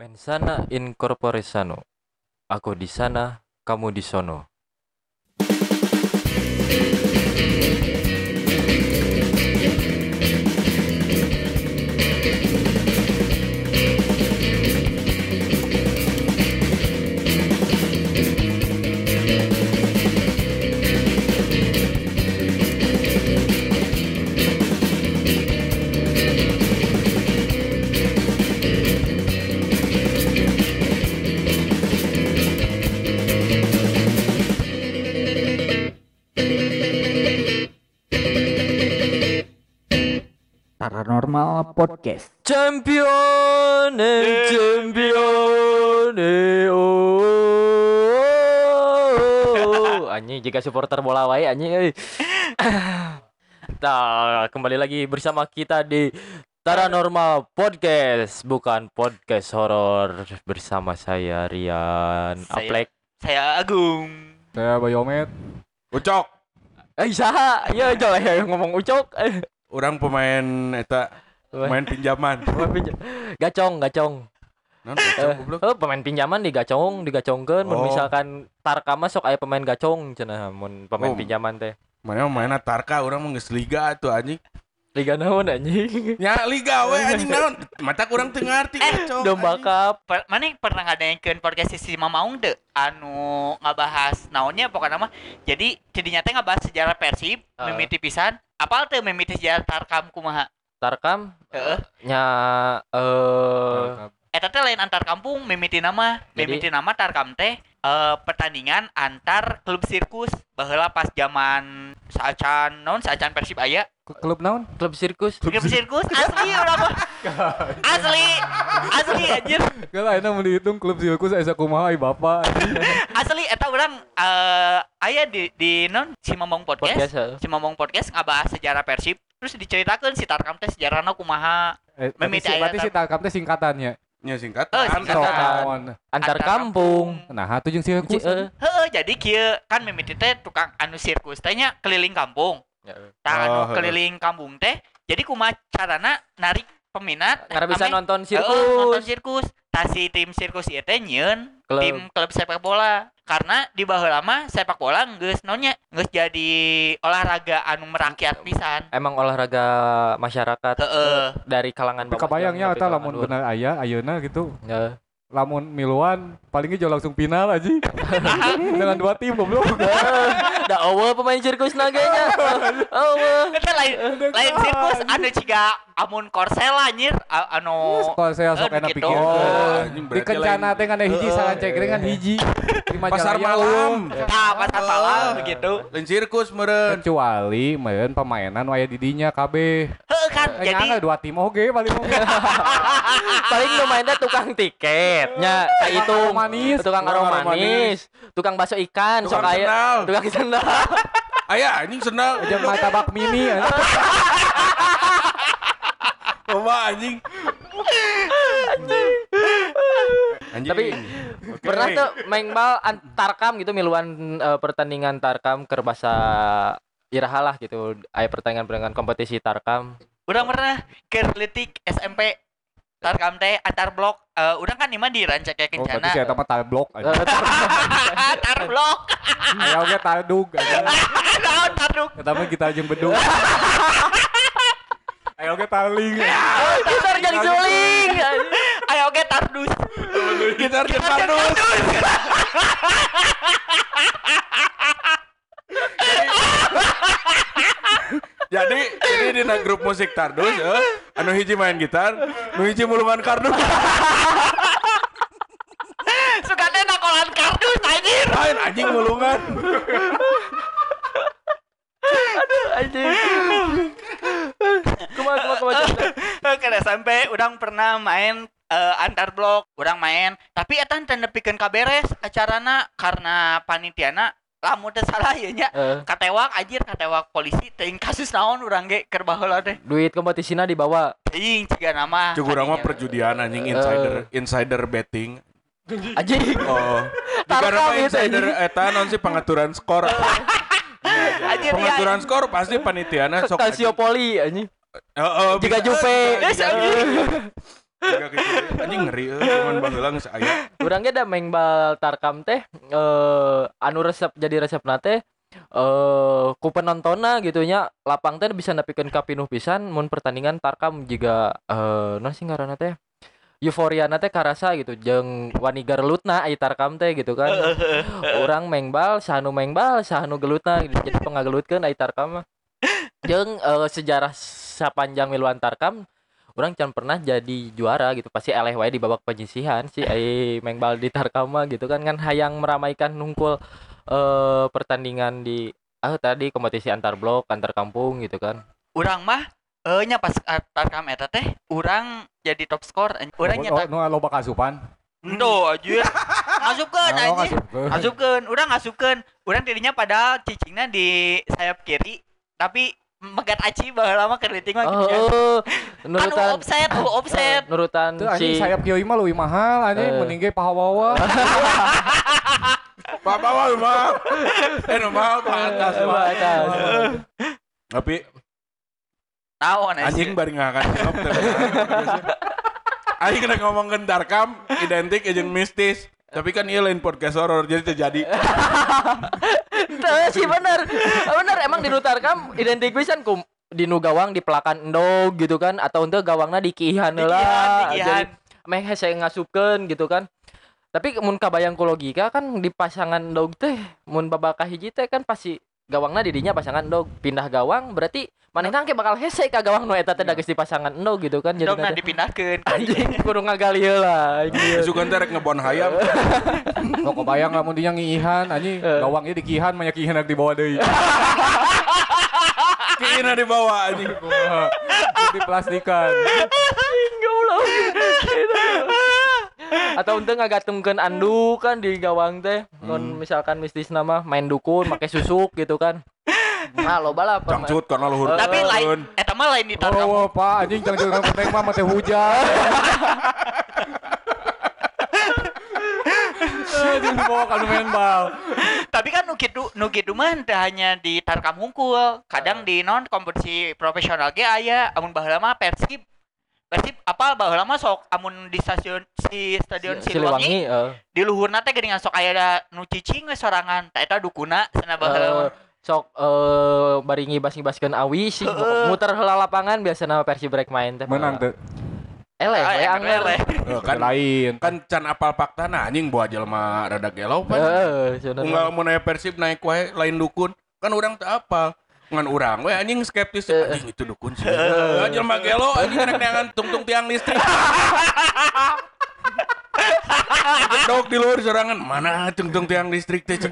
Mensana in corpore sano. Aku di sana, kamu di sono. Paranormal Podcast. Champion, oh. Anjing jika supporter bola wae anjing euy. Nah, kembali lagi bersama kita di Paranormal Podcast, bukan podcast horor, bersama saya Rian Aplek. Saya Agung. Saya Bayomet. Ucok, Saha? Ya jol ya ngomong ucok. orang pemain pemain pinjaman. Gacong. Non, ucok, goblok. Pemain pinjaman digacongkeun mun Oh. misalkan Tarkam mah sok aya pemain gacong cenah mun pemain Oh. pinjaman teh. Mana main Tarka, orang mah geus liga tuh anjing. Liga naon anjing? Ya liga we anjing naon. Mata kurang teu ngarti gacong. Domba anjing. cup. Mana pernah ngadainkeun podcast si Mamaung teu anu ngabahas naonnya pokoknya mah. Jadi tidinya teh ngabahas sejarah Persib, mimiti pisan. Apal teu mimiti sejarah Tarkam kumaha? Tarkam Heeh. nya Eta teh lain antar kampung mimiti nama. Jadi- Mimiti nama Tarkam teh pertandingan antar klub sirkus baheula pas zaman saacan Persib aya. Klub naon? klub sirkus. Klub sirkus asli urang mah. Asli anjir. Kalau enak mau dihitung klub sirkus asa kumaha ai bapak. Asli eta urang aya di non si Momong Podcast, podcast. heeh. Si Momong podcast ngabahas sejarah Persib terus diceritakeun si Tarkam teh sejarahna kumaha. Mimiti aya Berarti si Tarkam teh singkatannya. Nya singkat. Singkatan. Naon? Antar Antar kampung. Nah, atuh jeung sirkus. Heeh, jadi kieu kan mimiti teh tukang anu sirkus teh nya keliling kampung. Tah anu Oh, heeh. keliling kampung teh jadi kumaha carana narik peminat Karena bisa ame- nonton nonton sirkus. sirkus. Tah si tim sirkus ieu teh nyieun Klub. tim klub sepak bola. Karena di baheula mah sepak bola geus jadi olahraga anu merakyat pisan. Emang olahraga masyarakat Heeh. dari kalangan bawah. Kebayangnya sampai eta kalangan lamun luhur. bener aya ayeuna gitu. Ya. Lamun miluan palingnya jauh langsung final aja. Dengan 2 tim goblok. Da eueuh pemain sirkus naganya. Eueuh. Eta lain sirkus anu ciga amun korsel anjir anu Kalau saya sok enak gitu. pikir. anjing, Di berarti kencana lain. teh kan ada hiji sancek dengan hiji. Di Pasar Majalaya, malam. Tah pasar malam begitu. Lain sirkus meureun. Kecuali meureun pamainan aya di dinya kabeh. Heeh kan Jadi jadi 2 tim oge paling oge. Paling nu main teh tukang tiketnya kayak itu aroma manis. tukang Tukang aroma aroma manis, tukang bakso ikan, sok Tukang aya sendal. tukang sendal. Aya anjing sendal. Jeung martabak mini. Coba anjing. Anjing. Tapi Oke. pernah tuh main bal Tarkam gitu miluan pertandingan Tarkam keur basa iraha lah gitu aya pertandingan kompetisi Tarkam. urang pernah keur leutik SMP Tarkam teh antar blok urang kan imah di Rancak Oh, berarti Kencana. saya eta mah tablok aja. Tar blok. Aya oge tadug aja. Naon tarduk? Eta mah kita jeung bedug. Aya oge taling. Gitar jadi suling. Ayo oge tardus. gitar jeung kardus. Jadi ini di grup musik Tardus, anu hiji main gitar, nu hiji mulungan kardus. Suka teh nakolan kardus anjir. Lain anjing mulungan. Anjing. Kumaha Ke SMP urang pernah main antar blok, urang main, tapi eta teu nepikeun kaberes acarana karena panitiana lamun teu salah ieu nya. Katewak polisi teuing kasus naon urang ge keur baheula teh. duit kompetisina dibawa. Teuing ciga nama. Cuk urang mah perjudian anjing insider betting. Anjing. Oh. Tarkam Karena itu, insider eta non sih pengaturan skor. Anjir Pengaturan skor pasti panitiana sok. Kasiopoli anjing. Heeh, Jika bisa. Jupe. Yes, anjing. Tiga gitu anjing ngeri cuman baheula geus aya. Urang ge da main bal Tarkam teh anu resep jadi resepna teh ku penontonna gitu nya lapang teh bisa nepikeun ka pinuh pisan mun pertandingan Tarkam jiga naon sih ngaranna teh euforiana teh karasa gitu jeung wani garelutna aya Tarkam teh gitu kan. Urang main bal sahanu gelutna gitu. Jadi pengagelutkeun aya Tarkam mah. Jeung sejarah sapanjang miluan Tarkam urang can pernah jadi juara gitu, pasti eleh wae di babak penyisihan si main bal di Tarkam mah gitu kan hayang meramaikan nungkul pertandingan di tadi kompetisi antar blok, antar kampung gitu kan. Urang mah nya pas Tarkam eta teh urang jadi top skor. Urang nyetak nu loba kasupan. endo anjir. Ngasupkeun anjing. Ngasupkeun. Urang tidinya padahal cicingna di sayap kiri tapi megat aci baheula mah keur diting mah gitu. Nurutan offset. Nurutan Tuh anjing si sayap kieu mah leuwih mahal anjing mending ge pahawawa. Pahawawa mah. Mahal pantas mah. Tapi Naon anjing bari ngakan jawab teh. Aing kena ngomongkeun Tarkam identik jeung mistis. Tapi kan ieu lain podcast horor jadi terjadi. Teu sih bener emang di Tarkam identik pisan ku di nu gawang di pelakan endog gitu kan atau henteu gawangna di kiihan heula. Jadi meh hese ngasupkeun gitu kan. Tapi mun kabayang ku logika kan di pasangan endog teh mun babaka hiji teh kan pasti gawangna di dinya pasangan endog pindah gawang berarti manehna ge bakal hese ka gawang nu eta teh da geus di pasangan endog gitu kan jadi endogna dipindahkeun. Anjing kudu ngagali heula anjing. Sugan teh rek ngebon hayam. Lo kebayang lamun dinya ngiihan anjing gawang ieu dikihan manya kiihan rek dibawa deui. Kiina dibawa anjing. Diplastikan. Goblok. Atau untuk ngagatungkeun anduk kan di gawang teh mun misalkan mistisna mah main dukun make susuk gitu kan. Nah loba lah Cangcut karena luhur. Tapi lain eta mah lain di Tarkam. Oh, Pak, anjing cangcut ka penting mah mate hujan. Anjing dibawa ka main bal. Tapi kan nu kitu mah teu hanya di Tarkam hungkul, kadang di non kompetisi profesional ge aya amun baheula mah Persib apa baheula mah sok amun di stadion Siliwangi di luhurna teh geuningan sok aya nu cicing we sorangan tah eta dukuna cenah baheula sok bari ngibas-ngibaskeun awi sih muter heula lapangan biasana Persib rek main teh Menang teu. eleh we angel Kan lain. kan can apal faktana anjing bawa jelema rada gelo pan. Cenah Unggal mun aya Persib naik wae lain dukun. Kan urang teu apal. Ngan urang we anjing skeptis anjing itu dukun sih. Jelema gelo anjing rek neangan tungtung tiang listrik. Dok di luar sorangan mana tungtung tiang listrik teh.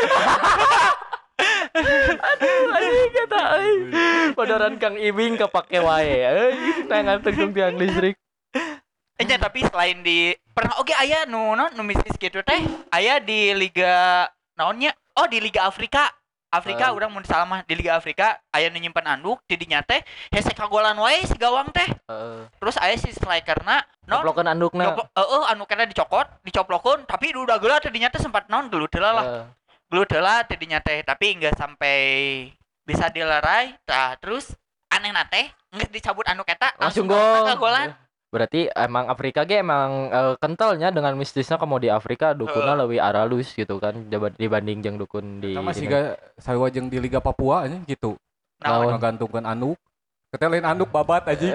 anjing kata padoran Kang Ibing kapake wae tangan tungtung tiang listrik. tapi selain di pernah oge aya nu mistis gitu teh aya di liga naonnya di Liga Afrika urang mun salah mah di Liga Afrika aya nu nyimpen anduk di dinya teh hese kagolan wae si gawang teh terus aya si strikerna Coplokeun andukna andukna dicoplokeun tapi udah geula teh dinya teh sempat naon gelut heula teh dinya teh tapi enggak sampai bisa dilerai terus anehna teh geus dicabut anduk eta langsung golan. Berarti emang Afrika ge emang kentalnya dengan mistisnya kamu di Afrika dukunna leuwih aralus gitu kan dibanding jeung dukun di Sama siga sarua jeung di Liga Papua anjing gitu. Naon Ngagantungkeun anduk. Kita lain anduk babat anjing.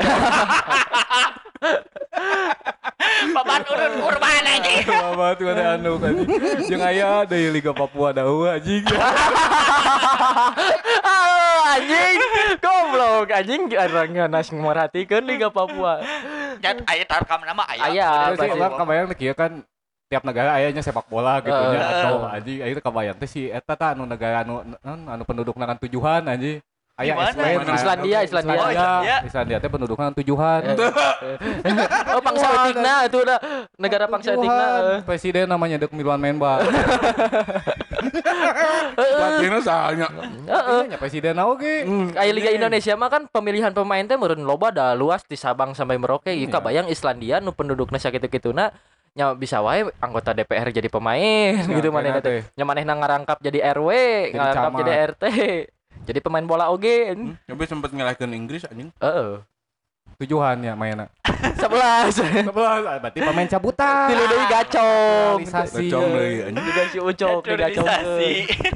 Babat urun kurban anjing. Babat ada anduk anjing. Jeung aya di Liga Papua daeuh anjing. Anjing goblok anjing orang nas merhatikeun Liga Papua. Dan aya Tarkam nama aya. Aya Terus sih kabayang teh kieu kan tiap negara ayanya sepak bola gitu nya atau anjing aya kabayang teh si eta tah anu negara anu pendudukna kan tujuan anjing. Aya Islandia teh pendudukna kan tujuan. Pangsa etikna itu udah negara pangsa etikna. Presiden namanya Dek Milwan Menba. Pelatihna sahanya. Nya presiden oge. Aya Liga Indonesia mah kan pemilihan pemain teh meureun loba da luas di Sabang sampai Merauke ieu kabayang Islandia nu pendudukna sakitu-kituna nya bisa wae anggota DPR jadi pemain gitu manehna teh. Nya manehna ngarangkap jadi RW, ngarangkap jadi RT. Jadi pemain bola oge. Tapi sempat ngalahkeun Inggris anjing. tujuannya mainnya. 11. Berarti pemain cabutan. Tilu deui gacong. Realisasi. Gacong deui anjing. Juga si Ucok digacongkeun.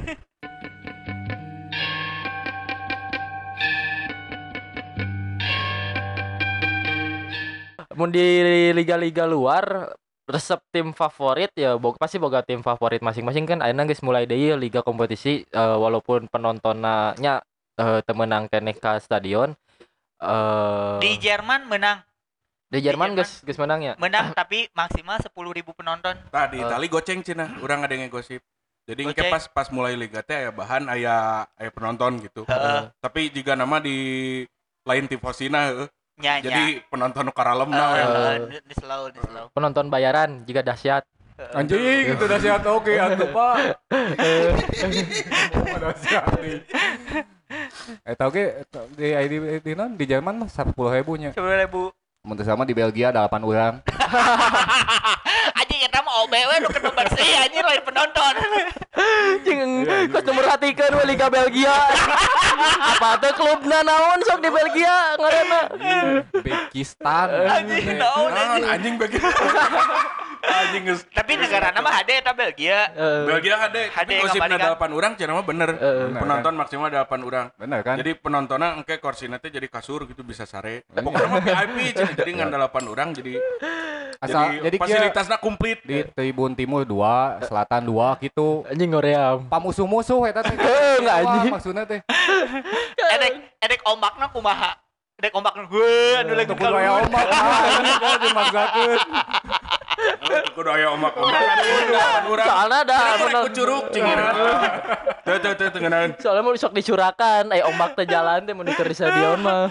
Mun di liga-liga luar resep tim favorit ya pasti boga tim favorit masing-masing kan ayeuna geus mulai deui liga kompetisi walaupun penontonnya teu meunang keneh ka stadion. Di Jerman menang. Di Jerman geus menang ya. Menang tapi maksimal 10.000 penonton. Tah di Itali goceng cenah, urang ada yang ngegosip. Jadi engke pas mulai liga teh aya bahan aya penonton gitu. Tapi jika nama di lain tifosina jadi penonton nu karalemna di slow. Penonton bayaran juga dahsyat. Anjing itu dahsyat oke atuh Pak. Dahsyat. Eta oge di Jerman mah 10.000 nya. 10.000. Mun teu sama di Belgia 8 urang. Anjing eta mah OBW nu keur bersih anjing lain penonton. Jeung geus merhatikeun we Liga Belgia. Apa teh klubna naon sok di Belgia ngaranna? Uzbekistan. Anjing naon anjing bagi. Anjing geus. Tapi negarana mah hade eta Belgia. Belgia hade. Gosipna 8 urang cenah mah bener. Penonton maksimal 8 urang. Bener kan? Jadi penontonnya engke korsina teh jadi kasur gitu bisa sare. Pokoknya mah VIP cenah jadi ngan 8 urang jadi jadi fasilitasnya komplit di tribun timur 2, selatan 2 gitu. Anjing ngoream. Pamusuh-musuh eta teh. Enggak anjing. Maksudna teh. Edek ombakna kumaha? Edek ombakna heuh anu lagi kudu aya ombak. Anjing kok dimaksakeun. Kudu aya ombak-ombakan urang. Soalna ada curug cingir. Teu tengenan. Soalnya mau sok dicurakan, ombak teh jalan teh mun di stadion mah.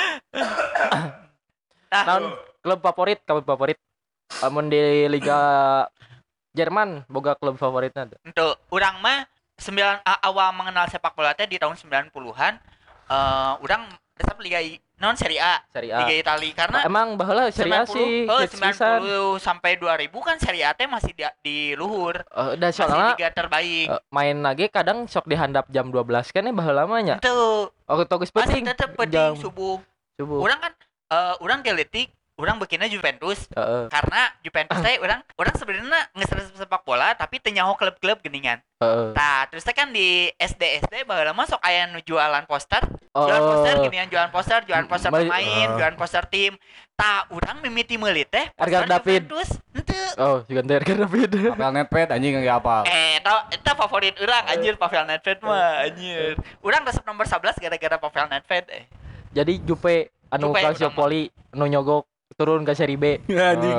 Naon klub favorit, klub favorit? Mun di Liga Jerman boga klub favoritna tuh. Untuk urang mah awal mengenal sepak bola teh di tahun 90-an. Urang resep Liga non Serie A. Liga Italia karena emang baheula Serie A sih 90 sampai 2000 kan Serie A teh masih di luhur. Dan soalnya liga terbaik. Main lagi kadang sok dihandap jam 12 kan baheula mah nya. Itu. Geus penting. Masih tetep penting subuh. Urang kan urang geletik urang bikinnya Juventus karena Juventus teh urang sebenarnya ngeser sepak bola tapi teu nyaho klub-klub geuningan. Tah, terus teh kan di SD baheula mah sok aya nu jualan poster. Jualan poster geuningan jualan poster pemain, jualan poster tim. Tah, urang mimiti meuli teh Edgar David. Henteu. Oh, juga Edgar David. Pavel Nedved anjing ge apal. Eta favorit urang anjir Pavel Nedved mah anjir. Urang resep nomor 11 gara-gara Pavel Nedved. Jadi Jupe anu Calciopoli nu nyogok turun ke seri B. Anjing.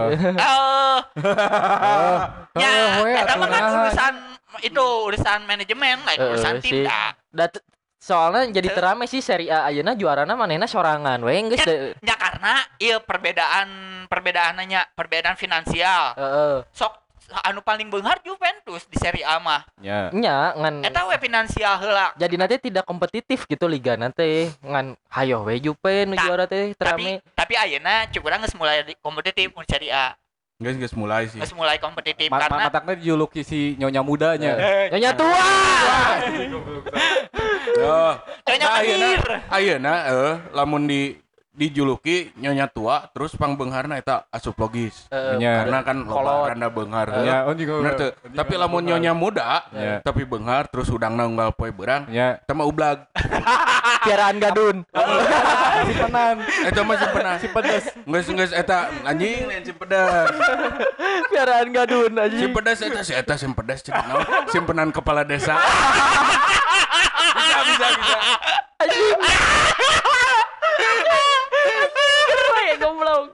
Ya, eta mah kan urusan manajemen, urusan tim dah. Soalnya jadi terame sih Serie A ayeuna juarana manehna sorangan we geus nya karena ieu perbedaan finansial. Sok anu paling beunghar Juventus di Serie A mah. Nya ngan eta we finansial heula. Jadi nanti tidak kompetitif gitu liga nanti ngan hayo we Juve nu juara teh terame. Tapi ayeuna cuk urang geus mulai kompetitif mun Serie A. Geus mulai sih. Geus mulai kompetitif karena matakna dijuluki si nyonya mudanya. Nyonya tua. Nyonya akhir. Ayeuna lamun dijuluki nyonya tua terus pangbeungharna eta asup logis. Karena kan loba randa beunghar. Bener teu? Tapi lamun nyonya muda tapi beunghar terus udangna unggal poe beurang eta mah ublag. Piaraan gadun. Simpenan. Eta mah simpenan. Si pedes. Geus eta anjing lain si pedes. Piaraan gadun anjing. Si pedes eta si pedes cenah. Simpenan kepala desa. Bisa. Anjing. Keren goblok.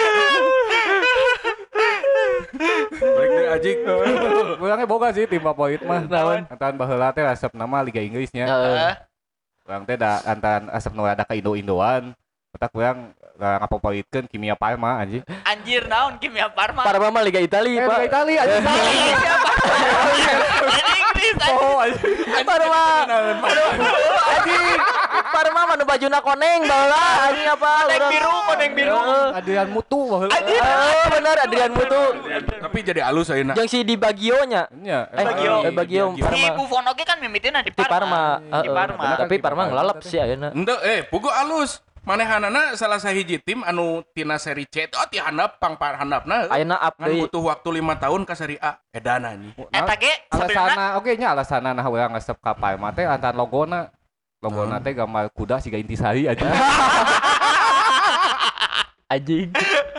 Balik deh anjing. Urangnya boga sih tim favorit mah. Naon? Antan baheula teh resep nama Liga Inggrisnya. Urang teh da antan asep nu ada ka Indo-Indoan. Eta urang ngafavoritkeun Kimia Parma anjing. Anjir naon Kimia Parma? Parma mah Liga Italia, Pak. Liga Italia anjing. Inggris anjing. Parma. Anjing. Parma mah nu bajuna koneng baheula anjing apa? Koneng biru. Adrian Mutu baheula. Bener Adrian Mutu. Tapi jadi alus ayeuna. Yang si Di Bagio-nya. Nya. Bagio Si Parma. Buffon oge kan mimitina di Di Parma. Di Parma. Tapi Parma ngelalap sih ayeuna. Henteu pugu alus. Manehanana salah sahiji tim anu tina seri C itu ti handap panghandapna ayeuna up kan deui. butuh waktu 5 tahun ka seri A edan anjing. Eta ge Alasana oke nya alasana nah urang ngesep ka Palma teh antar logona teh gambar kuda siga intisari aja. Anjing.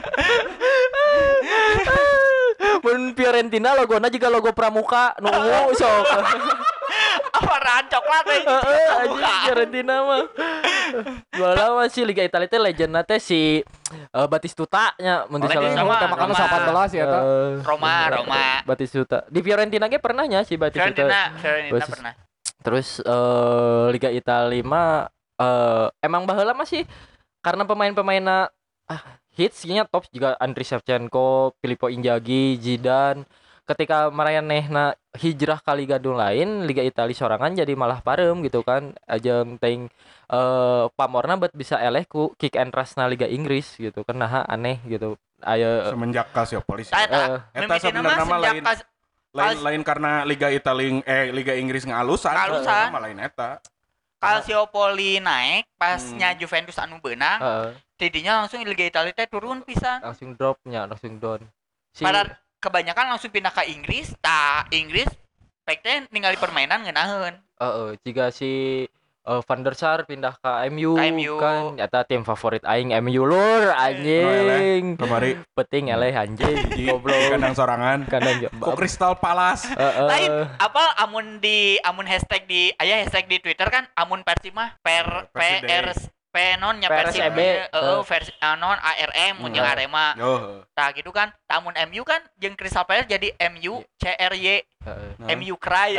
Mun Fiorentina logona juga logo Pramuka nu ungu sok. warna coklat teh. Anjing Fiorentina mah. Bola masih Liga Italia teh legendna teh si Batistuta nya mun Legend salah. sama Makanya Roma. 18 ya ta. Roma. Batistuta. Di Fiorentina ge pernah nya si Batistuta. Fiorentina pernah. Terus Liga Italia mah emang baheula masih karena pemain-pemainna hits nya top juga Andriy Shevchenko, Filippo Inzaghi, Zidane. Ketika marayanehna hijrah ka liga lain, Liga Italia sorangan jadi malah parem gitu kan. Ajeng teuing pamorna bet bisa eleh ku kick and rush-na Liga Inggris gitu kan. Nah aneh gitu. Aya Semenjak Calciopoli. Eta sebenarnya mah lain karena Liga Liga Inggris ngalusan. Mah lain eta. Calciopoli naik pasnya Juventus anu beunang. Tidinya langsung Liga Italia teh turun pisan. Langsung dropnya, langsung down. Pada kebanyakan langsung pindah ke Inggris, Inggris pek teh ningali permainan ngeunaheun. Jika si Van der Sar pindah ke MU, kan eta tim favorit aing MU lur anjing. Kemari Penting eleh anjing goblok. Kandang sorangan. Kok Crystal Palace. Lain apa amun hashtag di hashtag di Twitter kan amun Persib mah non nya Persib versi non ARM mun jeung Arema. Tah gitu kan. Amun MU kan jeung Crystal Palace jadi MU CRY. MU Cry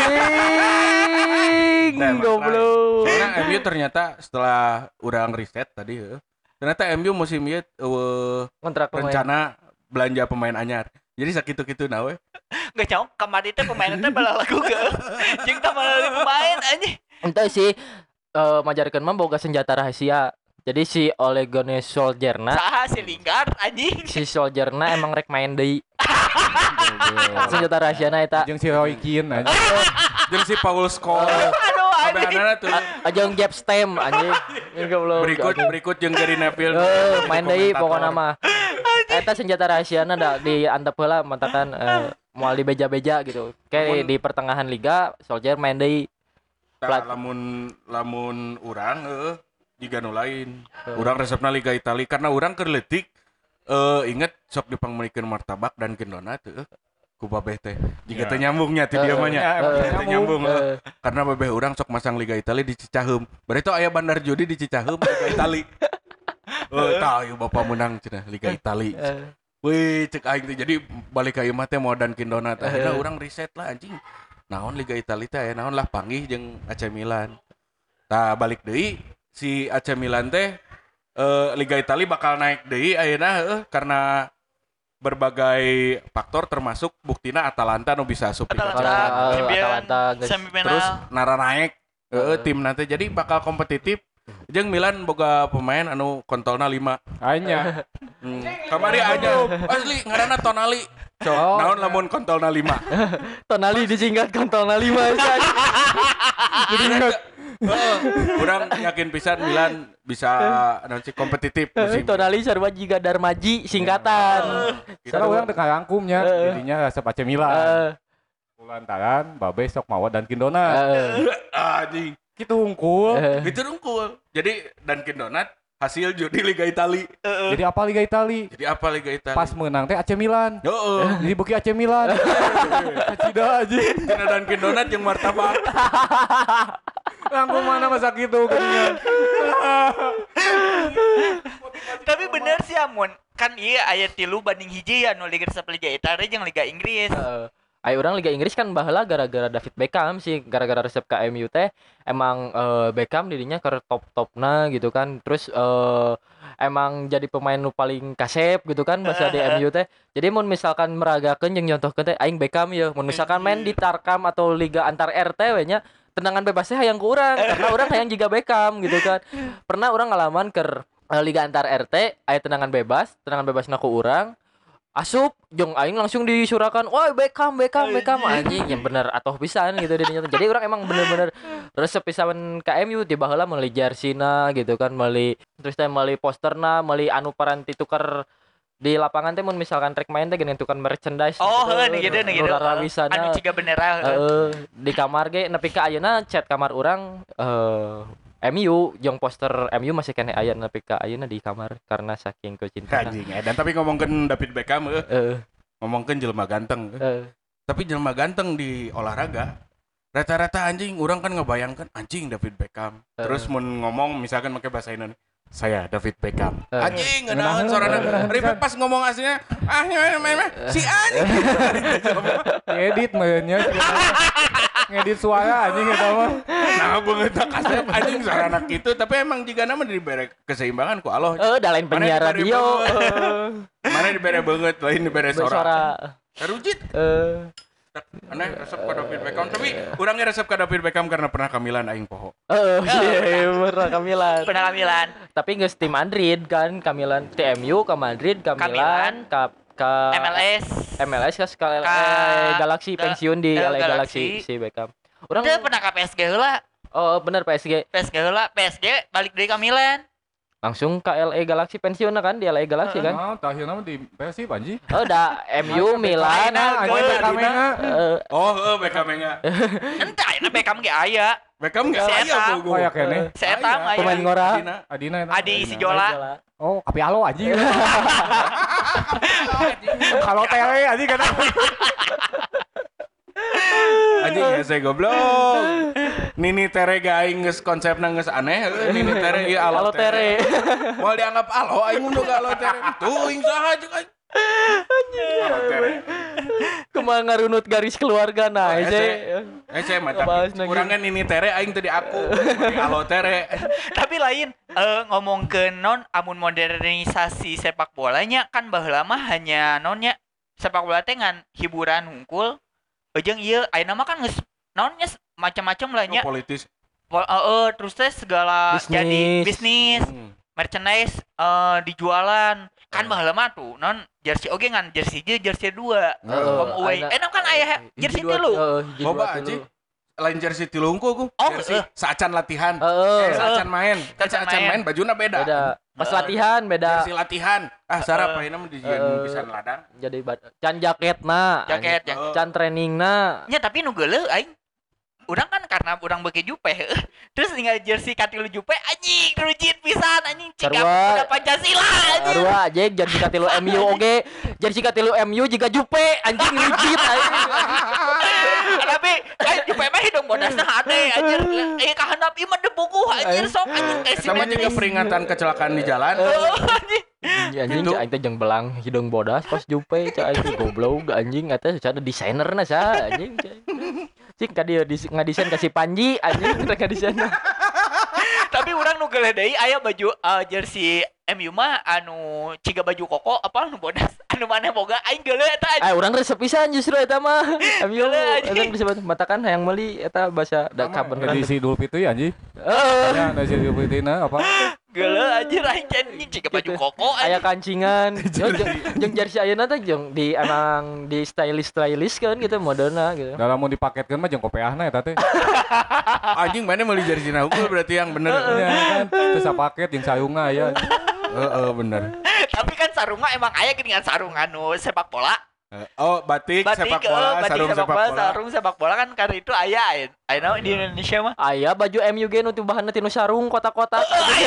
anjing. Goblok. Soalnya MU ternyata setelah urang riset tadi ternyata MU musim ieu rencana belanja pemain anyar. Jadi sakitu-kitu na we. Geus nyaho kamari teh pemain teh bala lagu ge. Jeung tah bala pemain anjing. Ente sih majarkeun mah boga senjata rahasia. Jadi si Ole Gunnar Solskjaer-na saha si Lingard anjing. Si Solskjaer-na emang rek main deui. Senjata rahasiana eta. Jeung si Roy Keane aja. Jeung si Paul Scholes. Aduh anjing. Tuh. Ajeng Jeff Stem anjing. Berikut jeung Gary Neville. Main deui pokona mah. Eta senjata rahasiana da diantep heula mantakan moal di beja-beja gitu. Kayak di pertengahan liga Solskjaer main deui. Lamun urang jiga nu lain. Urang resepna Liga Italia karena urang keur leutik inget sok dipangmulikeun martabak dan donat ku babeh teh. Jiga teh nyambungnya ti dieu mah nya. Teh nyambung. Karena babeh urang sok masang Liga Italia di Cicaheum. Bari teh aya bandar judi di Cicaheum Liga Italia. Tah ieu bapak menang cenah Liga Italia. Wih cek aing teh jadi balik ka ieu mah teh mau dan donat. Akhirna urang riset lah anjing. Naon Liga Italia teh naon lah panggih jeung AC Milan. Tah balik deui si AC Milan teh Liga Italia bakal naik deui ayeuna karena berbagai faktor termasuk buktina Atalanta nu bisa asup Atalanta semifinal. Terus nara naik tim nanti jadi bakal kompetitif. Jeung Milan boga pemain anu kontolna 5. Anya. Kamari aja asli ngaranna Tonali. Naon lamun kontolna 5. Tonali disingkat kontolna 5 Jadi urang yakin pisan Milan bisa nanti kompetitif musim. Tonali sarua jiga Darmaji singkatan. Karena urang teu karangkumnya jadinya resep AC Milan. Lantaran babe sok mawa dan Kindona. Anjing. Gitu unggul. Gitu unggul. Jadi dan Kindonat hasil judi Liga Italia. Jadi apa Liga Italia? Pas menang teh AC Milan. Jadi buki AC Milan. Cida aja. Cina dan Kindonat yang martabak. Langkung mana masa gitu geuningan. Tapi bener sih amun kan iya aya 3 banding 1 ya nu Liga Italia jeung Liga Inggris. Ayo orang Liga Inggris kan baheula gara-gara David Beckham sih, gara-gara resep ke MU teh emang Beckham dirinya ke top-topna gitu kan. Terus emang jadi pemain nu paling kasep gitu kan bahasa di MU teh. Jadi mun misalkan meragakeun jeung nyontohkeun teh aing Beckham ya, mun misalkan main di Tarkam atau liga antar RT we nya tendangan bebasnya hayang ku urang karena urang hayang jiga Beckham gitu kan. Pernah urang ngalaman ke liga antar RT aya tendangan bebasna ku urang. asup jeung aing langsung disurakan, "Woi, Beckham anjing." Yang bener atuh pisan gitu dinya. Jadi orang emang bener-bener resep pisan ka MU tiba heula meuli jersina gitu kan, meuli terus teh meuli posterna, meuli anu paranti tuker di lapangan teh mun misalkan rek main teh geuning tukar merchandise gitu. Anu ciga bendera di kamar ge nepi ka ayeuna cat kamar urang MU jeung poster MU masih kene aya nepi ka ayeuna di kamar karena saking kecintaan. Anjing dan tapi ngomongkeun David Beckham ngomongkeun jelema ganteng. Tapi jelema ganteng di olahraga rata-rata anjing urang kan ngebayangkan anjing David Beckham. Terus mun ngomong misalkan pakai bahasa Indonesia saya David Beckham. Anjing ngeunaheun sorana. Ribet pas ngomong aslinya si anjing. Edit mainnya. Ngedit suara anjing eta mah. Nah, beungeut kasep anjing sorana kitu tapi emang jigana mah dibere keseimbangan ku Allah. Da lain penyiar radio. Mana dibere beungeut lain dibere suara. Terujit. Aneh resep ka David Beckham tapi urangnya resep ka David Beckham karena pernah kamilan aing poho. Pernah kamilan. Tapi geus tim Madrid kan, kamilan TMU ke Madrid, kamilan ke MLS ke LA Galaxy pensiun di LA Galaxy si Beckham. Urang pernah ka PSG heula. Oh, bener PSG heula, PSG balik deui ka Milan. Langsung ke LA Galaxy pensiun kan di LA Galaxy kan? Oh, terakhirnya di Persib anjing. Oh, da MU Milan Beckham nya. Entah ayeuna Beckham ge aya. Beckham ge aya bogo. Aya keneh. Setan aya. Pemain ngora. Adina eta. Adi si Jola. Oh, kapi alo anjing. Kalau tele anjing kan. Anjing hese goblok. Nini tere ge aing geus konsepna geus aneh. Nini tere ieu alo tere. Moal dianggap alo aing mun ga alo tere. Tuh ing saha jeung aing. Anjing. Kumaha ngarunut garis keluarga nah Ece mah tapi urangnya Nini tere aing teu di aku. Di alo tere. Tapi lain ngomongkeun non amun modernisasi sepak bolanya kan baheula mah hanya nonnya sepak bola teh ngan hiburan hungkul. Jeung ieu ayeuna mah kan geus naonnya macam-macam lah nya. Politis. Terus teh segala jadi bisnis, merchandise dijualan. Kan baheula mah tuh non jersey oge ngan jersey 2. Home away. Enak kan aya jersey 3. Loba anjing. Lain jersey 3 ku. Jersey saacan latihan. Saacan main. Saacan main bajuna beda. Pas latihan beda. Jersey latihan. Sarap ayeuna mah dijieun pisan ladang. Jadi can jaketna. Can trainingna. Nya tapi nu geuleuh aing. Urang kan karena urang beuki Jupe terus tinggal jersey katilu Jupe anjing rujit pisan anjing cika udah Pancasila anjing Arua anjing jersey katilu MU oge jersey katilu MU juga Jupe anjing rujit anjing tapi Jupe mah hidung bodasna hade anjir kahandap ieu mah debuku anjir sok anjing teh sama juga peringatan kecelakaan di jalan anjing aing teh jeung belang hidung bodas pas Jupe cai goblok anjing eta secara desainerna sa anjing cik ka dia ngadesain kasih Panji anjing kita ngadesain. Tapi urang nu geuleuh deui aya baju jersey MU mah anu ciga baju koko apa nu bodas anu maneh boga aing geuleuh eta. Urang resep pisan justru eta mah. MU eta disebut matakan hayang meuli eta bahasa da kabar edisi Idul Fitri anjing. Heeh. Edisi Idul Fitrina apa? Geuleuh anjir aing cenah ciga baju koko aya kancingan. Jeung jersey ayeuna teh jeung di emang di stylish kan gitu moderna gitu. Da lamun dipaketkeun mah jeung kopeahna eta teh. Anjing mana meuli jersey na unggul berarti yang bener. Kan terus paket jeung sarungna aya. Bener. Tapi kan sarunga emang aya geuningan sarung anu sepak bola. Batik sepak bola, sarung sepak bola. Sarung sepak bola kan karena itu aya di Indonesia mah. Aya baju MU ge nu bahanna tinu sarung kotak-kotak.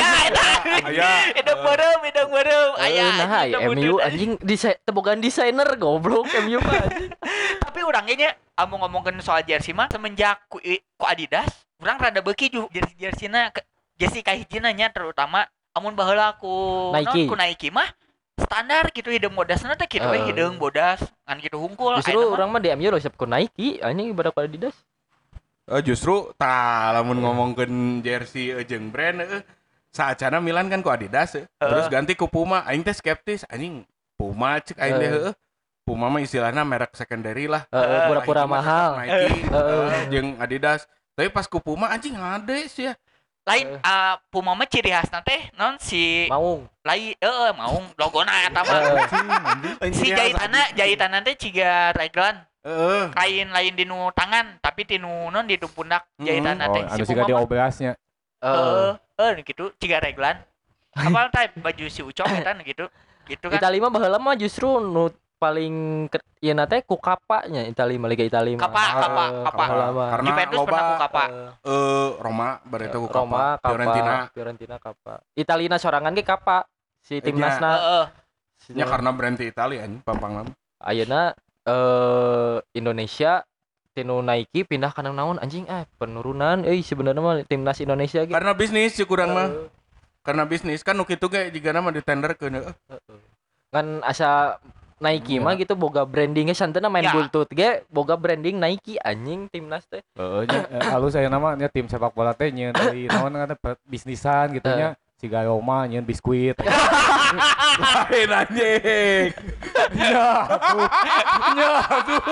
Aya. Hidung beureum. Aya. Nah, MU anjing tebogan desainer goblok MU mah anjing. Tapi urang ge nya ngomongkeun soal jersey mah semenjak ku Adidas, urang rada beuki jersey-jerseyna jersey kahijina nya terutama amun baheula ku Nike mah standar gitu hidung bodasna teh kitu hidung bodas ngan kitu hungkul. Justru urang mah di MU resep ku Nike anjing ibarat ku Adidas. Justru lamun ngomongkeun jersey jeung brand saacana Milan kan ku Adidas terus ganti ku Puma aing teh skeptis anjing Puma cek aing teh Puma mah istilahna merek secondary lah. Pura-pura mahal. Nike jeung Adidas. Tapi pas ku Puma anjing ngades ya. lain Puma mah ciri khasna teh non si Maung. lain Maung logona eta mah. Si jahitanna teh ciga raglan. Lain di nu tangan tapi di nu non di nu pundak jahitanna teh. Si Puma di oblasnya. Gitu ciga raglan. Apal teh baju si Ucok eta gitu. Gitu kan. Itali mah baheula mah justru nu paling ieu na teh ku kapanya Itali mah Liga Itali mah. Kapa. Karena Juventus pernah ku kapa. Roma bareta ku Roma, kapa. Fiorentina kapa. Italina sorangan ge kapa si timnasna. Nya karena brand Italia anjing pampang mah. Ayeuna Indonesia tinu Nike pindah ka naon anjing penurunan sebenarnya mah timnas Indonesia ge. Karena bisnis sih kurang mah. Karena bisnis kan nu kitu ge jigana mah ditenderkeun. Kan asa Nike mah gitu boga brandingnya santana main bultut ge boga branding Nike anjing timnas teh. Halus aya nama nya tim sepak bola teh nyeun dari naon ngaranna bisnisan gitu nya siga Roma nyeun biskuit. Lain anjing. Nya tuh.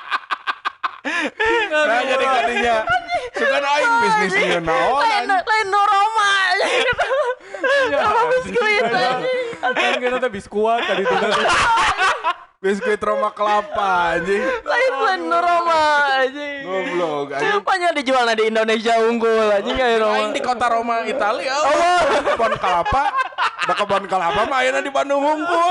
Nah jadi kadinya sugan aing bisnis nyeun naon lain Roma. Roma biskuit anjing. Kan kena teh biskuat tadi tuh. Biskuit Roma kelapa anjing. Lain Roma anjing. Goblok anjing. Rupanya dijualnya di Indonesia unggul anjing ya Roma. Aing di kota Roma Italia. Kebon kelapa. Da kebon kelapa mah ayeuna di Bandung unggul.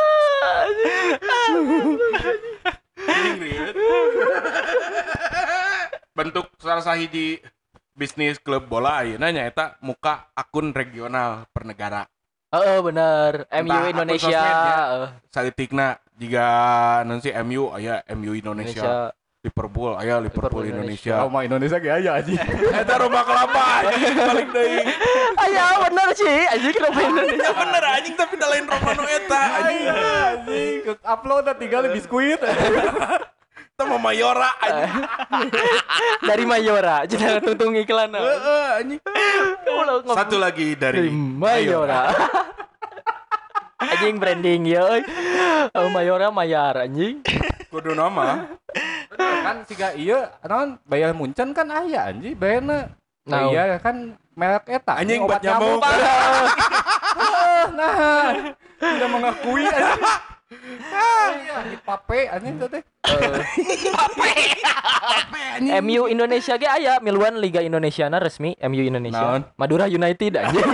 Bentuk salah sahiji bisnis klub bola ayeuna nya eta muka akun regional per negara. Bener. MU Indonesia. Saeutikna jiga non si MU aya MU Indonesia. Liverpool aya Liverpool Indonesia. Roma Indonesia ge aya anjing. Eta Roma kelapa anjing balik deui. Aya bener sih anjing Roma Indonesia. Bener anjing tapi da lain Roma nu eta anjing. Anjing upload tinggal biskuit. Eta mah Mayora anjing. Dari Mayora cenah tuntung iklan. Anjing. Satu lagi dari Mayora. Anjing branding ya. Mayora Mayar anjing. Kudu nama. Kan siga ieu naon bayar Munchen kan aya anjing bayarna. Nah, iya kan merek eta. Anjing buat nyamuk. Nah, tidak mengakui anjing. Iya, pape anjing teh. MU Indonesia ge aya miluan Liga Indonesiana resmi MU Indonesia. Madura United anjing.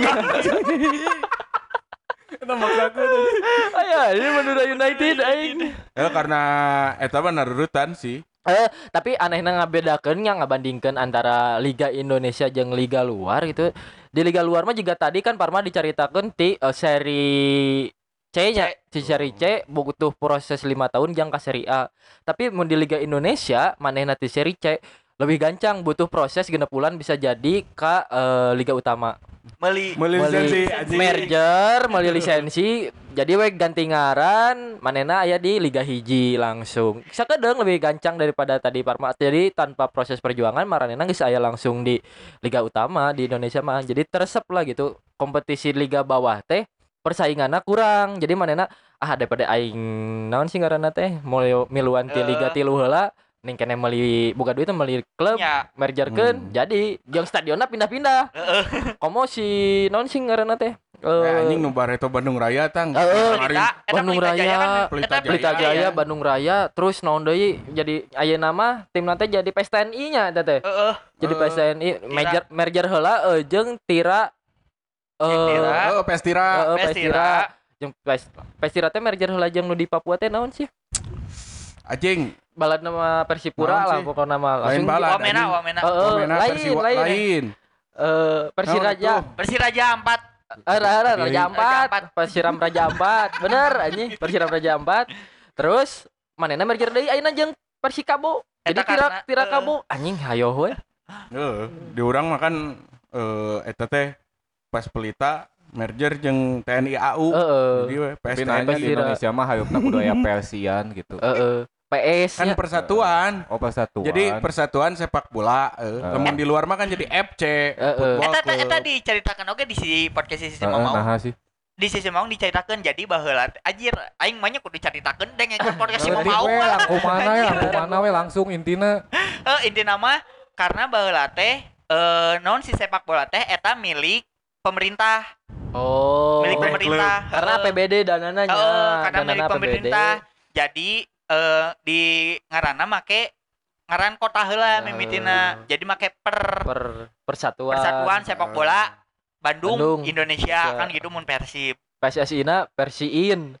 Eta maksaku tuh. Aya, ini Madura United aing. Karena eta mah narurutan sih. Tapi anehna ngabedakeun nya ngabandingkeun antara Liga Indonesia jeung liga luar gitu. Di liga luar mah juga tadi kan Parma dicaritakeun ti seri C-nya, di seri C butuh proses 5 tahun jang ka seri A. Tapi mun di Liga Indonesia manehna ti seri C lebih gancang, butuh proses 6 bulan bisa jadi ka liga utama. Meli lisensi merger, meli lisensi. Jadi we ganti ngaran, manehna aya di Liga Hiji langsung. Sakedeung lebih gancang daripada tadi Parma. Jadi tanpa proses perjuangan maranehna geus aya langsung di liga utama di Indonesia mah. Jadi teresep lah gitu. Kompetisi liga bawah teh persainganna kurang. Jadi manehna daripada aing naon sih ngaranna teh miluan ti liga tilu heula ning kene meuli boga duit meuli klub mergerkeun jadi jeung stadionna pindah-pindah. Komo si naon sing ngaranna teh? Anjing nu bareto Bandung Raya tang. Bandung Raya, Pelita Jaya, Bandung Raya, terus naon deui jadi ayeuna mah timna teh jadi PSTNI nya eta teh. Jadi PSTNI merger heula jeung Tira Pestira. Jeung Pestira teh merger heula jeung nu di Papua teh naon sih? Anjing balad nama Persipura lah pokoknya nama langsung Wamena lain Persiraja 4 Raja 4 Persiram Raja 4 bener anjing Persiram Raja 4 terus manehna merger deui ayeuna jeung Persikabo jadi Tira Kabo anjing hayo we di urang mah kan eta teh pas Pelita merger jeung TNI AU jadi we PSTN di Indonesia mah hayupna kudu aya Persian gitu PS kan persatuan. Persatuan. Jadi persatuan sepak bola. Namun di luar mah kan jadi FC. Eta diceritakan oke di si podcast si Mamau. Di sisi Mamau diceritakan jadi baheula anjir aing mah nya kudu diceritakeun deng ekor podcast si Mamau. Langkung mana we langsung intina. Intina mah karena baheula teh naon si sepak bola teh eta milik pemerintah. Oh. Milik pemerintah. Karena APBD danana nya. Karena milik pemerintah. Jadi di ngaranna make ngaran kota heula mimitina. Jadi make persatuan sepak bola Bandung Indonesia kan gitu mun Persib. PSSI-na Persiin.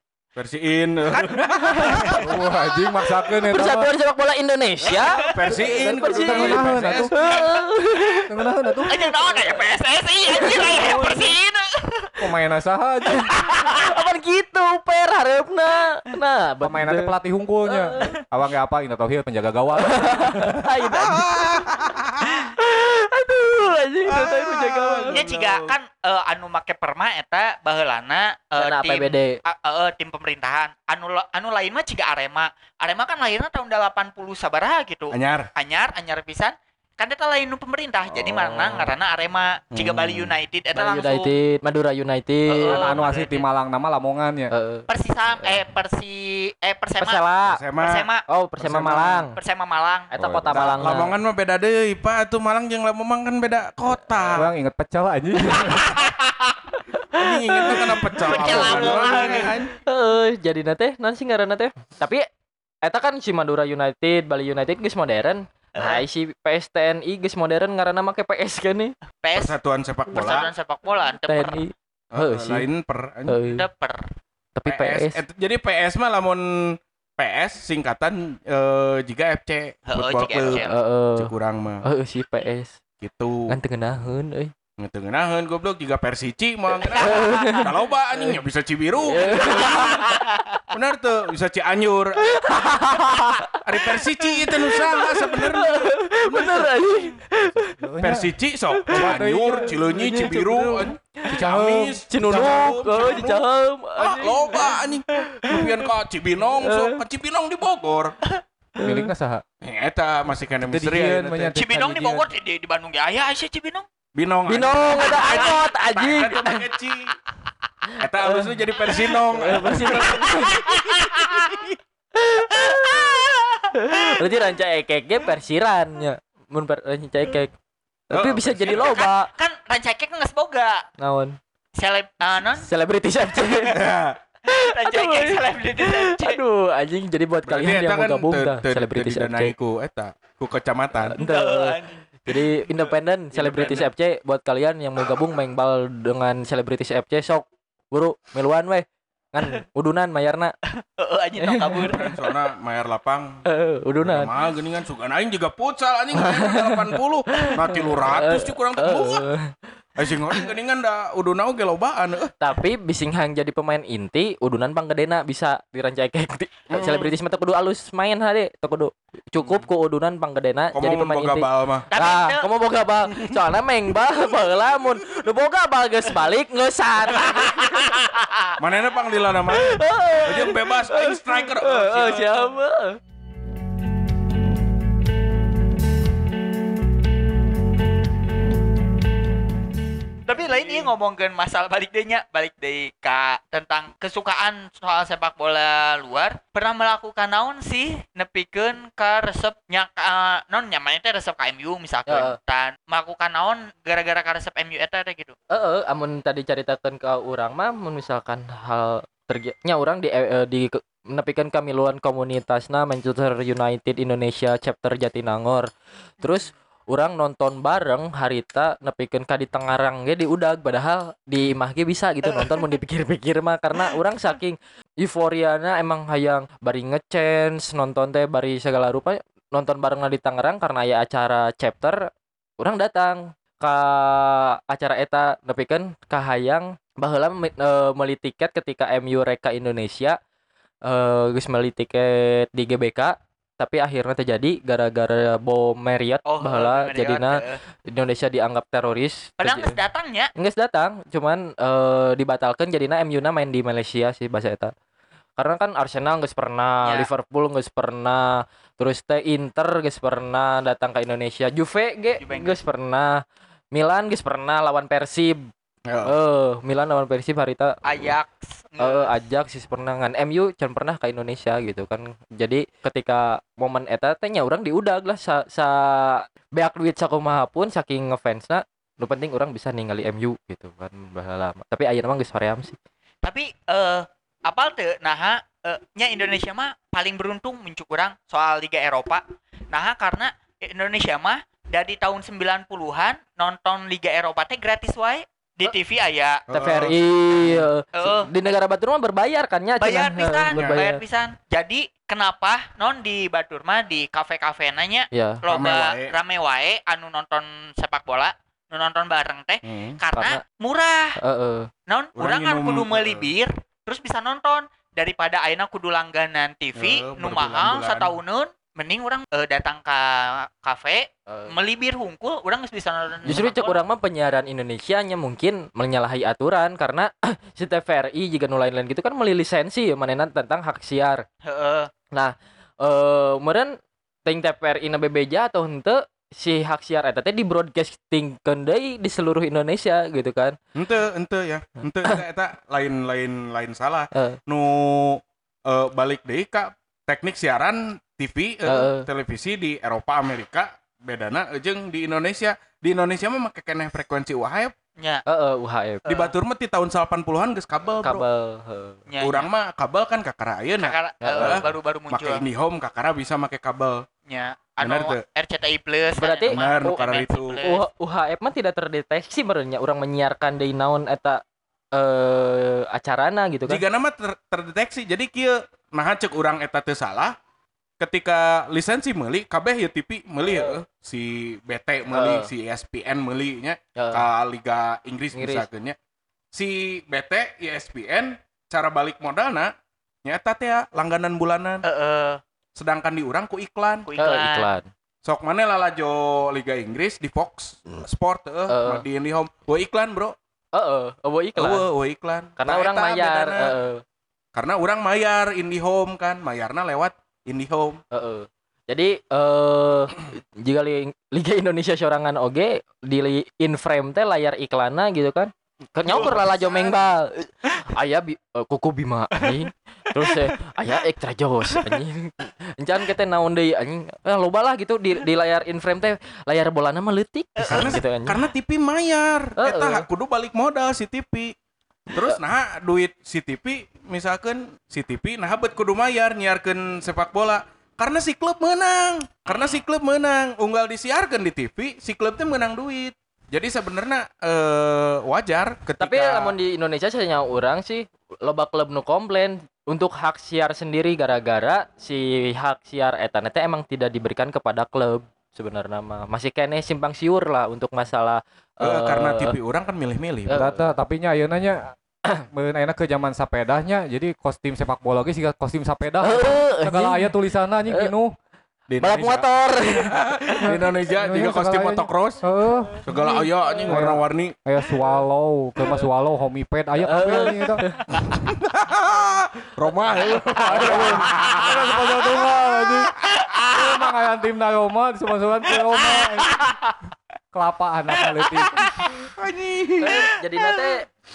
Wah, anjing maksakeun eta. Persatuan Sepak Bola Indonesia. Persiin. Tengenaheun atuh. Anjing naon aya PSSI anjing aya Persiin. Pemain saha aja. Apaan gitu per hareupna. Nah, Pemain teh pelatih hungkulnya. Awang ge apa? Indah Tauhid penjaga gawang. Aduh, anjing teh penjaga gawang. Nya ciga kan anu make perma eta baheulana tim pemerintahan. Anu lain mah ciga Arema. Arema kan lahirna tahun 80 sabaraha gitu. Anyar pisan. Kan eta lain nu pemerintah. Jadi mana ngaranna Arema, ciga Bali United eta Bali langsung United, Madura United. Anu asli tim Malang nama Lamongan ya. Persema. Oh, Persema Malang. Persema Malang. Eta kota Malang. Lamongan mah beda deui, Pak. Atuh Malang jeung Lamongan kan beda kota. Orang inget pecel anjing. Anjing ingetna kana pecel. Jadi teh naon sih ngaranna teh? Tapi eta kan si Madura United, Bali United geus modern. Nah, si PSTNI geus modern ngaranna make PS kan nih. Persatuan Sepak Bola. TNI. Lain per. Tapi PS. Jadi PS mah lamun PS singkatan jika FC Football Club. Kurang mah. Si PS. Gitu. Kan tengenaheun euy. Ngetengenaheun goblok juga Persici mah kaloba anjing bisa Cibiru. Benar tuh bisa Cianjur. Ari Persici itu nu saha sebenarnya. Bener anjing. Persici sok Cianjur, Cileunyi, Cibiru, Cicaheum, Cinunuk, Cicaheum. Loba anjing. Kemudian ka Cibinong sok, ka Cibinong di Bogor. Milikna saha? Eta masih kana misteri. Cibinong di Bogor di Bandung ge aya sih Cibinong. Binong ada angkot anjing. Eta alusnya jadi Persinong. Berarti ranca ekek ge Persiran nya. Mun ranca ekek. Tapi bisa jadi loba. Kan ranca ekek geus boga. Naon? Selebritis FC. Ranca ekek selebritis FC. Aduh, anjing jadi buat kalian yang mau gabung dah Selebritis FC. Ku kecamatan. Jadi independen Selebritis FC buat kalian yang mau gabung main bal dengan Selebritis FC sok buru miluan weh kan udunan mayarna. Anjing tong kabur. Soalna mayar lapang. Udunan. Mah geuningan sugan aing juga futsal anjing 80. Nah 300 cuy kurang teu. Asing orang geuningan da uduna oge lobaan. Tapi bisinghang jadi pemain inti udunan panggedena bisa dirancakek. Selebritis mah teu kudu alus main hade, teu kudu. Cukup ku udunan panggedena jadi pemain inti. Nah, komo boga bal. Soalna main bal baheula mun nu boga bal geus balik ngeusan. Manehna panglilana mah. Jeung bebas aing striker. Siapa? Tapi lain ieu ngomongkeun masalah balik deui ka tentang kesukaan soal sepak bola luar. Pernah melakukan naon sih nepikeun ka resep nya naon nyaman teh resep ka MU misalkan. Dan melakukan naon gara-gara ka resep MU eta teh gitu. Amun tadi caritakeun ka urang mah mun misalkan hal nya urang di nepikeun ka miluan komunitasna Manchester United Indonesia chapter Jatinangor. Terus urang nonton bareng harita nepikeun ka di Tangerang ge di udag padahal di imah ge bisa gitu nonton mun dipikir-pikir mah karena urang saking euforiana emang hayang bari ngechance nonton teh bari segala rupa nonton bareng di Tangerang karena aya acara chapter urang datang ka acara eta nepikeun ka hayang baheula meuli tiket ketika MU reka Indonesia geus meuli tiket di GBK tapi akhirnya terjadi gara-gara bom Marriott baheula jadina Indonesia dianggap teroris. Padahal geus datangnya. Geus datang, cuman dibatalkan jadina MU-na main di Malaysia sih bahasa eta. Karena kan Arsenal geus pernah, Liverpool geus pernah, terus teh Inter geus pernah datang ke Indonesia, Juve geus pernah, Milan geus pernah lawan Persib. Milan lawan Persib harita Ajax. Ajax sih pernah ngan MU can pernah ke Indonesia gitu kan. Jadi ketika momen eta teh nya urang diudag lah sa beak duit sakumaha pun saking ngefansna nu penting orang bisa ningali MU gitu kan baheula lama. Tapi ayeuna mah geus hoream sih. Tapi apal teu naha nya Indonesia mah paling beruntung muncul urang soal Liga Eropa. Naha karena Indonesia mah dari tahun 90-an nonton Liga Eropa teh gratis wae. Di TV aya TVRI di negara Batur mah berbayar kan nya bayar pisan. Jadi kenapa non di Batur mah di kafe-kafe nanya loba rame wae anu nonton sepak bola nu nonton bareng teh karena murah. Non urang kan kudu meuli bir terus bisa nonton daripada ayeuna kudu langganan TV nu mahal satahunun. Mending orang datang ke kafe meuli bir hungkul orang geus bisa nonton. Justru cek urang mah penyiaran Indonesia nya mungkin menyalahi aturan karena si TVRI juga nu lain-lain gitu kan meuli lisensi manehna tentang hak siar. Nah, meureun ting TVRI na bebeja atau henteu si hak siar eta teh di broadcastingkeun deui di seluruh Indonesia gitu kan. Henteu ya. Henteu eta lain salah. Nu balik deui ka teknik siaran TV televisi di Eropa Amerika bedana jeung di Indonesia. Di Indonesia mah make keneh frekuensi UHF. Nya. UHF. Di Batur mah ti tahun 80-an geus kabel, Bro. Urang mah kabel kan kakara ayeuna. Baru-baru muncul. Make IndiHome kakara bisa make kabel. Nya. Anu RCTI Plus. Berarti karena itu UHF mah tidak terdeteksi merenya urang menyiarkan deui naon eta acarana gitu kan. Jika nama terdeteksi jadi kieu naha cek urang eta teu salah. Ketika lisensi meuli kabeh ya TV meuli si BT meuli si ESPN meuli nya ka Liga Inggris misalkeun nya. Si BT ESPN cara balik modalna nya eta teh langganan bulanan. Sedangkan di urang ku iklan. Sok maneh lalajo Liga Inggris di Fox Sport di IndiHome. Iklan, Bro. Iklan. Karena orang mayar. Karena orang mayar IndiHome kan, mayarna lewat IndiHome. Jadi jika Liga Indonesia sorangan oge di in-frame teh layar iklanna gitu kan. Nyokur lalajo mengbal. Aya kuku Bima anjing. Terus aya extra jos anjing. Encan kita naon deui anjing. Loba lah gitu di layar in-frame teh layar bolana mah leutik gitu anjing. Karena TV mayar. Eta kudu balik modal si TV. Terus nah duit si TV misalkan si TV nah bet kudu mayar nyiarkeun sepak bola. Karena si klub menang. Unggal disiarkeun di TV, si klub teh menang duit. Jadi sebenarnya wajar ketika. Tapi lamun di Indonesia saya orang sih loba klub nu komplain untuk hak siar sendiri gara-gara si hak siar eta teh emang tidak diberikan kepada klub sebenarnya mah. Masih kene simpang siur lah untuk masalah karena TV orang kan milih-milih. Tapi nya ayeuna nya enak ke zaman sapedahnya. Jadi kostum sepak bola ge siga kostum sapeda. Segala aya tulisanna anjing pinuh. Balap motor. Di Indonesia juga kostum motocross. Segala aya anjing warna-warni. Aya swallow, ke mas swallow, homiped aya kabeh anjing eta. Roma. Ada sponsor tunggal anjing. Emang aya timna Roma disebut-sebut ke Roma. Kelapa anak leutik. Anjing. Jadi nate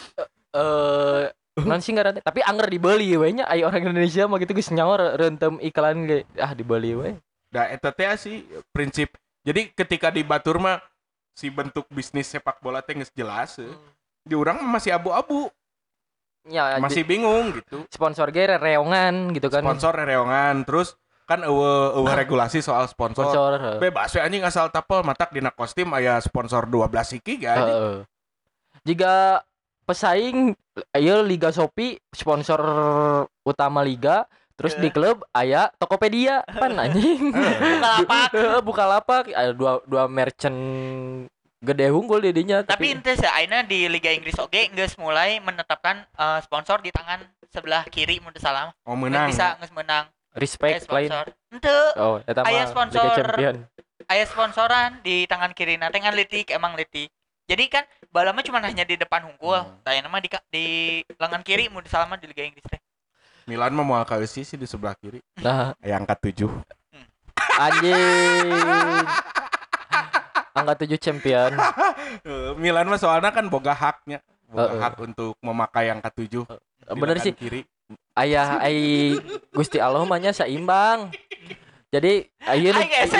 non sih nggak tapi anger dibeli we nya aya orang Indonesia mah gitu geus nyawer reuntem iklan ge dibeli we. Da eta teh sih prinsip. Jadi ketika di Batur mah si bentuk bisnis sepak bola teh geus jelas. Di urang masih abu-abu. Ya, masih bingung gitu. Sponsor ge reongan gitu kan. Sponsor reongan terus kan eueuh regulasi soal sponsor. Bebas we anjing asal tapel matak dina kostum aya sponsor 12 siki ga anjing. Jika pesaing ayo Liga Shopee sponsor utama liga terus di klub aya Tokopedia pan anjing. Bukalapak ada dua merchant gede unggul di dinya. Tapi ente ayeuna di Liga Inggris oge geus mulai menetapkan sponsor di tangan sebelah kiri mun teu salah. Oh menang. Bisa geus menang. Respect lain. Henteu. Oh eta mah aya sponsor. Aya sponsoran di tangan kiri na teh ngan leutik emang leutik. Jadi kan balama cuma hanya di depan hungkul. Tayana mah di lengan kiri mun salah mah di Liga Inggris teh. Milan mah moal kaeusi sih di sebelah kiri. Nah, angka 7. Anjing. Angka 7 champion. Milan mah soalnya kan boga haknya. hak untuk memakai yang ke-7. Bener sih. Kiri. Ayah Gusti Allah mah nya seimbang. Jadi iya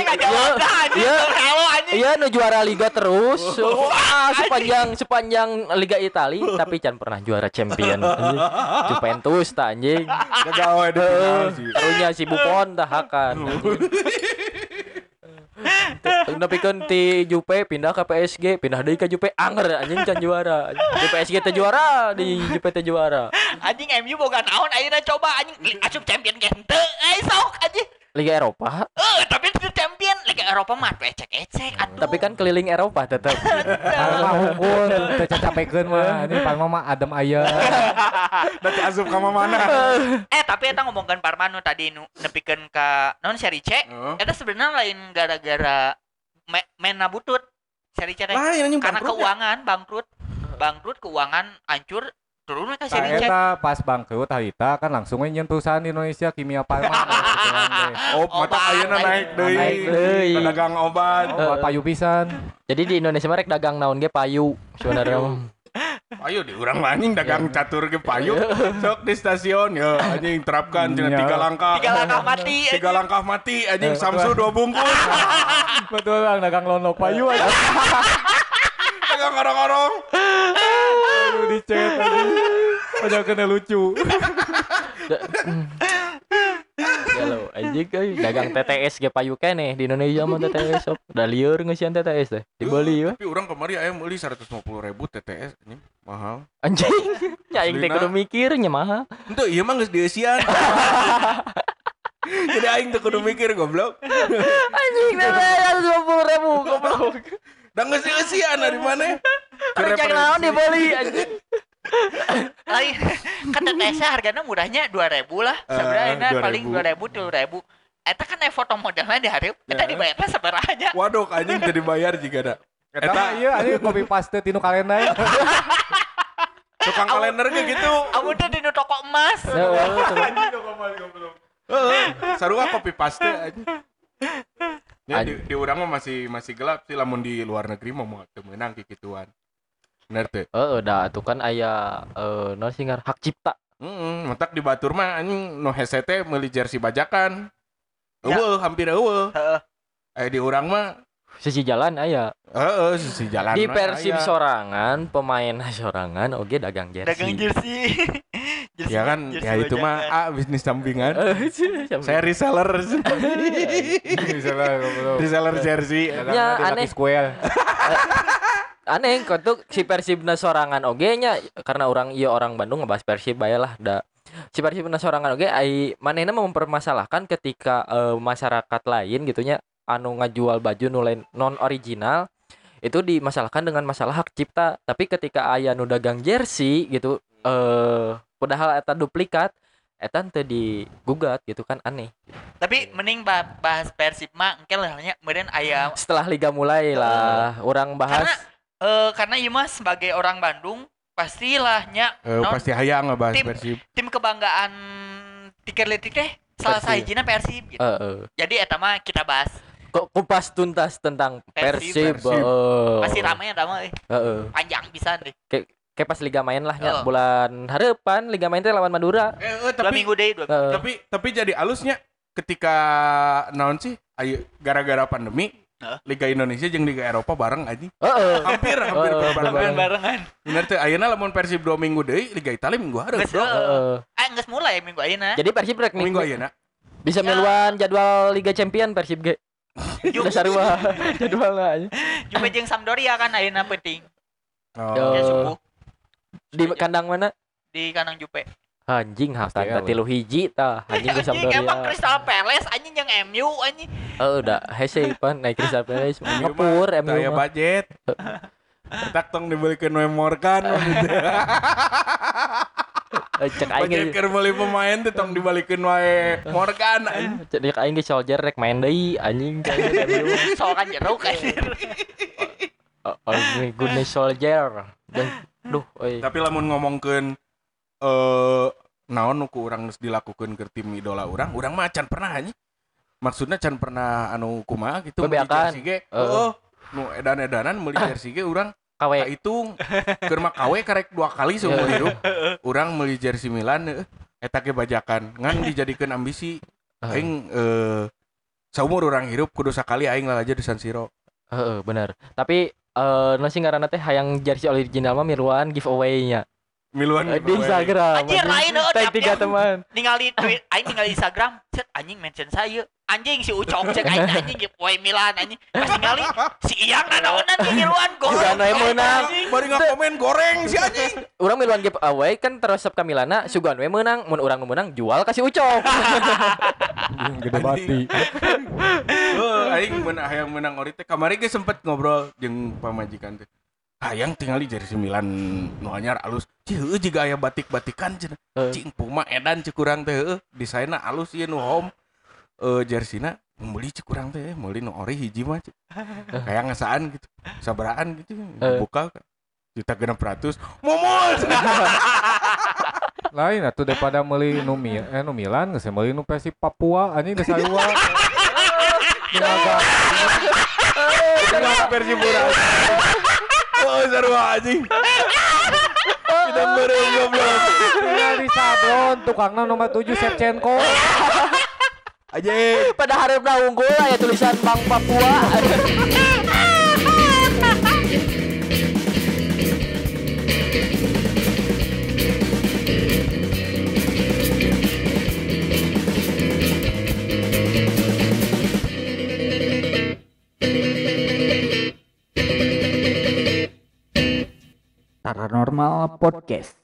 nu juara liga terus. Wah, sepanjang Liga Italia tapi can pernah juara champion. Juventus tah anjing. Gawe di final sih. Karunya si Buffon tah hakan. Nepikeun ti Jupe pindah ke PSG, pindah deui ka Jupe anger anjing can juara. Di PSG teh juara, di Jupe teh juara. Anjing MU boga naon ayeuna coba anjing asup champion ge henteu. Sok anjing. Liga Eropa. Tapi itu champion Liga Eropa mah ecek-ecek atuh. Tapi kan keliling Eropa tetap. Mah unggul teu cacapekeun mah. Ini Parma mah adem aya. Da teh asup ka mana? Tapi eta ngomongkeun Parma nu tadi nu nepikeun ka naon Serie C. Eta sebenarnya lain gara-gara mena butut. Serie C teh. Karena keuangan bangkrut keuangan hancur. Turun ke Serie C. Eta pas bangkrut harita kan langsung nyentuhan di Indonesia Kimia Farma. Mata ayeuna naik deui. Dagang obat. Payu pisan. Jadi di Indonesia mah rek dagang naon ge payu sebenarnya. Payu di urang anjing dagang catur ge payu. Sok di stasiun ya anjing terapkan cenah 3 langkah. 3 langkah mati. 3 langkah mati anjing Samsu 2 bungkus. Betul Bang, dagang lonok payu aja. Dagang orang-orang. Dicet aja kena lucu. Galau anjing euy dagang TTS ge payu keneh di Indonesia mah TTS sok. Da lieur ngeusian TTS teh di Bali Tapi urang kemari aya meuli 150.000 TTS anjing mahal. Anjing. Ya aing teh kudu mikir nya mahal. Henteu ieu mah geus dieusian. Jadi aing teh kudu mikir goblok. Anjing teh 150.000 goblok. Da geus dieusian dari mana? Kerja naon di Bali anjing. Lain kan TTS harganya murahnya 2.000 lah. Sebenarnya paling 2.000 3.000. Eta kan foto modelnya dihareup. Eta dibayarnya sabaranya. Waduh anjing teu dibayar juga da. Eta ieu anjing copy paste tinu kalender. Tukang kalender ge gitu. Amun teh di toko emas. Sarua copy paste anjing. Ya di urang mah masih gelap sih lamun di luar negeri mah teu meunang kikituan. Bener teh. Da atuh kan aya naon sih ngar hak cipta. Mentak di batur mah anjing nu hese teh meuli jersey bajakan. Eueuh, hampir eueuh. Heeh. Di urang mah sisi jalan aya. Sisi jalan. Di Persib sorangan, pemain sorangan oge dagang jersey. Dagang jersey. Ya kan, ya itu mah bisnis sampingan. Saya reseller. Reseller jersey. Ya aneh. Aneh kok si Persibna sorangan oge nya karena orang Bandung ngebahas Persib bayalah da. Si Persibna sorangan oge ai manehna mempermasalahkan ketika masyarakat lain gitunya anu ngajual baju non original itu dimasalahkan dengan masalah hak cipta. Tapi ketika aya nu dagang jersey gitu padahal eta duplikat eta teu digugat gitu kan aneh. Tapi mending bahas Persib mah engke lah nya meureun aya setelah liga mulai lah orang bahas karena ieu mah sebagai orang Bandung pastilah nya pasti hayang ngebahas Persib. Tim kebanggaan Tikerletik teh salah sahijina Persib gitu. Jadi eta mah kita bahas kupas tuntas tentang Persib. Pasti ramai eta mah panjang pisan deh. Kayak pas liga main lah ya bulan harapan liga main teh lawan Madura. Tapi 2 minggu deui. Tapi jadi alusnya ketika naon sih ayo gara-gara pandemi Liga Indonesia jeung Liga Eropa bareng anjing. Hampir barengan. Bener teh ayeuna lamun Persib 2 minggu deui Liga Italia minggu hareup. Geus mulai minggu ayeuna. Jadi Persib rek minggu ayeuna bisa miluan jadwal Liga Champion Persib ge. Udah sarua jadwalna anjing. Jupe jeung Sampdoria kan ayeuna penting. Ya subuh. Di kandang mana? Di kandang Jupe. Anjing haftan teh 3 hiji tah anjing ke Sampdoria. Emang Crystal Palace anjing jeung MU anjing. Udah hese pan naik Crystal Palace ngepur MU. Aya budget. Tak tong dibelikeun we Morgan. Cek aing keur meuli pemain teh tong dibalikeun wae Morgan. Cek aing ge soldier rek main deui anjing. Soal kan jeruk anjir. Good soldier. Duh, tapi lamun ngomongkeun naon nu ku urang geus dilakukeun keur tim idola urang mah can pernah anjing. Maksudna can pernah anu kumaha gitu bebeakan nu edan-edanan meuli jersey ge urang KW. Itu keur mah KW karek 2 kali seumur hidup. Urang meuli jersey Milan eta ge bajakan ngan dijadikeun ambisi. Aing saumur urang hirup kudu sakali aing lalaja di San Siro. Bener. Tapi nasi ngaranna teh hayang jersey original mah miluan giveaway-nya. Miluan di Instagram. Anjir lain tag 3 teman. Ningali tweet aing ningali Instagram, set anjing mention saya. Anjing si Ucok cek aing anjing giveaway Milan anjing. Pas ningali si Iyang nanaonan di miluan gol. Juga anu meunang. Bari ngakomen goreng si anjing. Urang miluan giveaway kan teresep ka Milana, sugan we meunang, mun urang nu meunang jual ka si Ucok. Gede bati. Aing hayang menang ori teh kamari ge sempet ngobrol jeung pamajikan teh. Hayang tingali jersey Milan nu anyar alus. Heuh jiga aya batik-batikan cenah. Cing Puma edan cek urang teh heuh. Desainna alus ieu nu home. Jerseyna meuli cek urang teh meuli nu ori hiji mah cek. Kayak ngasaan gitu. Sabaraan gitu. Buka $1.600.000. Momol. Lain atuh daripada meuli nu Milan geus meuli nu Persib Papua anjing geus sarua. Dinaga. Persib Buras. Oh, sarua anjing. Kita bareng goblok. Tinggal di sablon tukangna nomor 7 Shevchenko. Anjing, pada hareup unggul aya tulisan Bank Papua. Paranormal Podcast.